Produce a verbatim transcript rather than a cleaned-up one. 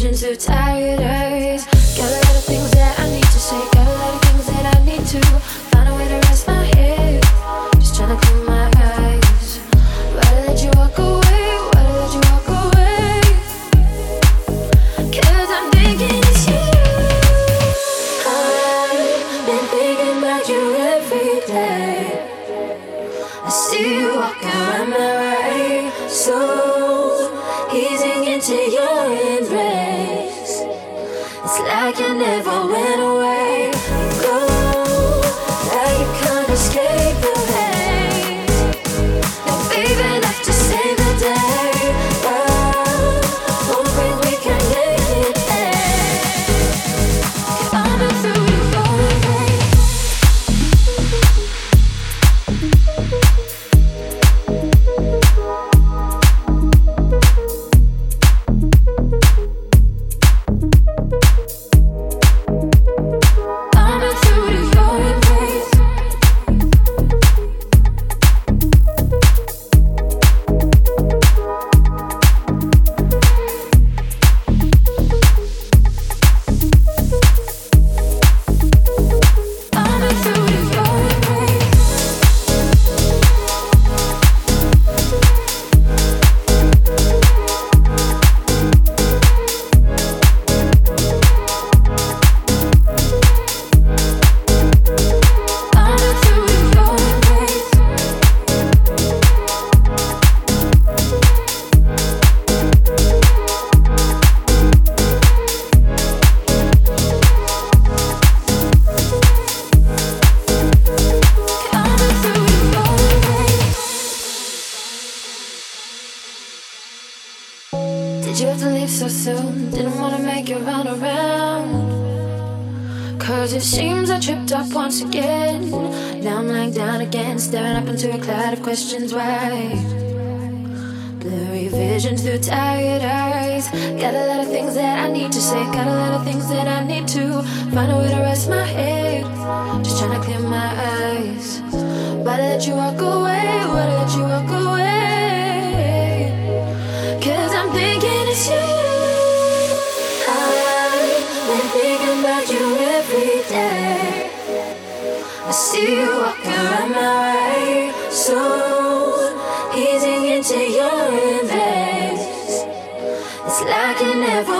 visions through tired eyes. Got a lot of things that I need to say, got a lot of things that I need to find a way to rest my head. Just trying to clear my eyes. Why did I let you walk away? Why did I let you walk away? Cause I'm thinking it's you. I've been thinking about you every day. I see you walking around my way, so easing into your embrace. It's like you never went away. Go, like you can't escape the pain. No baby left to save the day. Oh, hoping we can make it end. I've been through the falling rain. Did you have to leave so soon? Didn't wanna make you run around. Cause it seems I tripped up once again. Now I'm lying down again, staring up into a cloud of questions. Why? Blurry visions through tired eyes. Got a lot of things that I need to say, got a lot of things that I need to find a way to rest my head. Just trying to clear my eyes. Why did I let you walk away? Why did I let you walk away? Cause I'm thinking it's you. I've been thinking about you every day. I see you walking around my way, so easing into your embrace. It's like you never